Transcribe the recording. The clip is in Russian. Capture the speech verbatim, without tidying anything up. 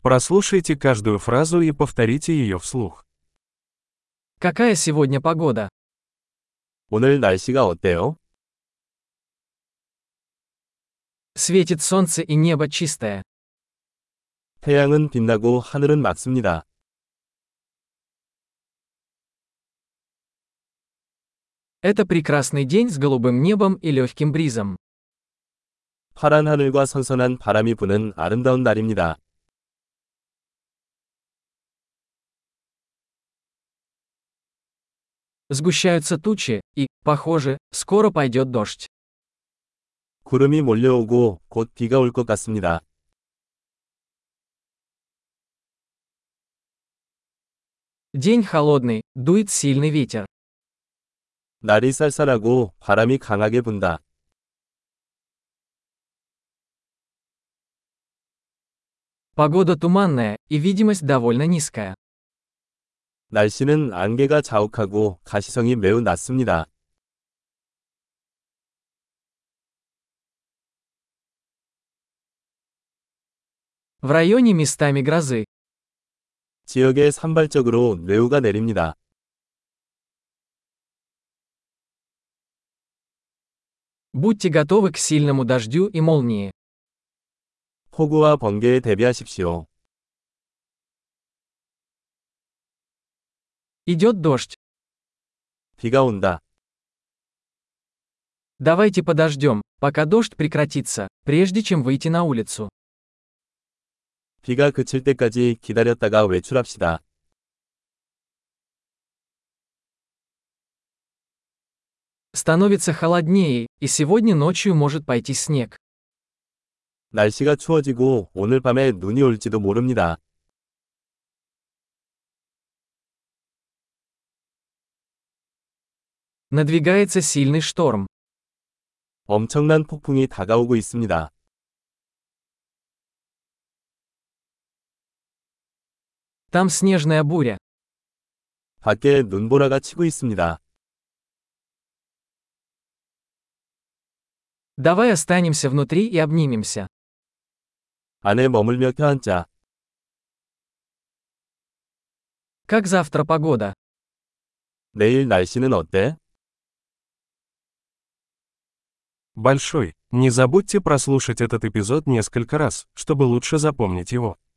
Прослушайте каждую фразу и повторите ее вслух. Какая сегодня погода? 오늘 날씨가 어때요? Светит солнце и небо чистое. 태양은 빛나고 하늘은 맑습니다. Это прекрасный день с голубым небом и легким бризом. 파란 하늘과 선선한 바람이 부는 아름다운 날입니다. Сгущаются тучи, и, похоже, скоро пойдет дождь. 구름이 몰려오고 곧 비가 올 것 같습니다. День холодный, дует сильный ветер. 날이 쌀쌀하고 바람이 강하게 분다. Погода туманная, и видимость довольно низкая. 날씨는 안개가 자욱하고 가시성이 매우 낮습니다. В районе местами грозы. 지역에 산발적으로 뇌우가 내립니다. Будьте готовы к сильному дождю и молнии. 폭우와 번개에 대비하십시오. Идет дождь. 비가 온다. Давайте подождем, пока дождь прекратится, прежде чем выйти на улицу. 비가 그칠 때까지 기다렸다가 외출합시다. Становится холоднее, и сегодня ночью может пойти снег. 날씨가 추워지고 오늘 밤에 눈이 올지도 모릅니다. Надвигается сильный шторм. 엄청난 폭풍이 다가오고 있습니다. Там снежная буря. 밖에 눈보라가 치고 있습니다. Давай останемся внутри и обнимемся. 안에 머물며 껴앉자. Как завтра погода? 내일 날씨는 어때? Большой. Не забудьте прослушать этот эпизод несколько раз, чтобы лучше запомнить его.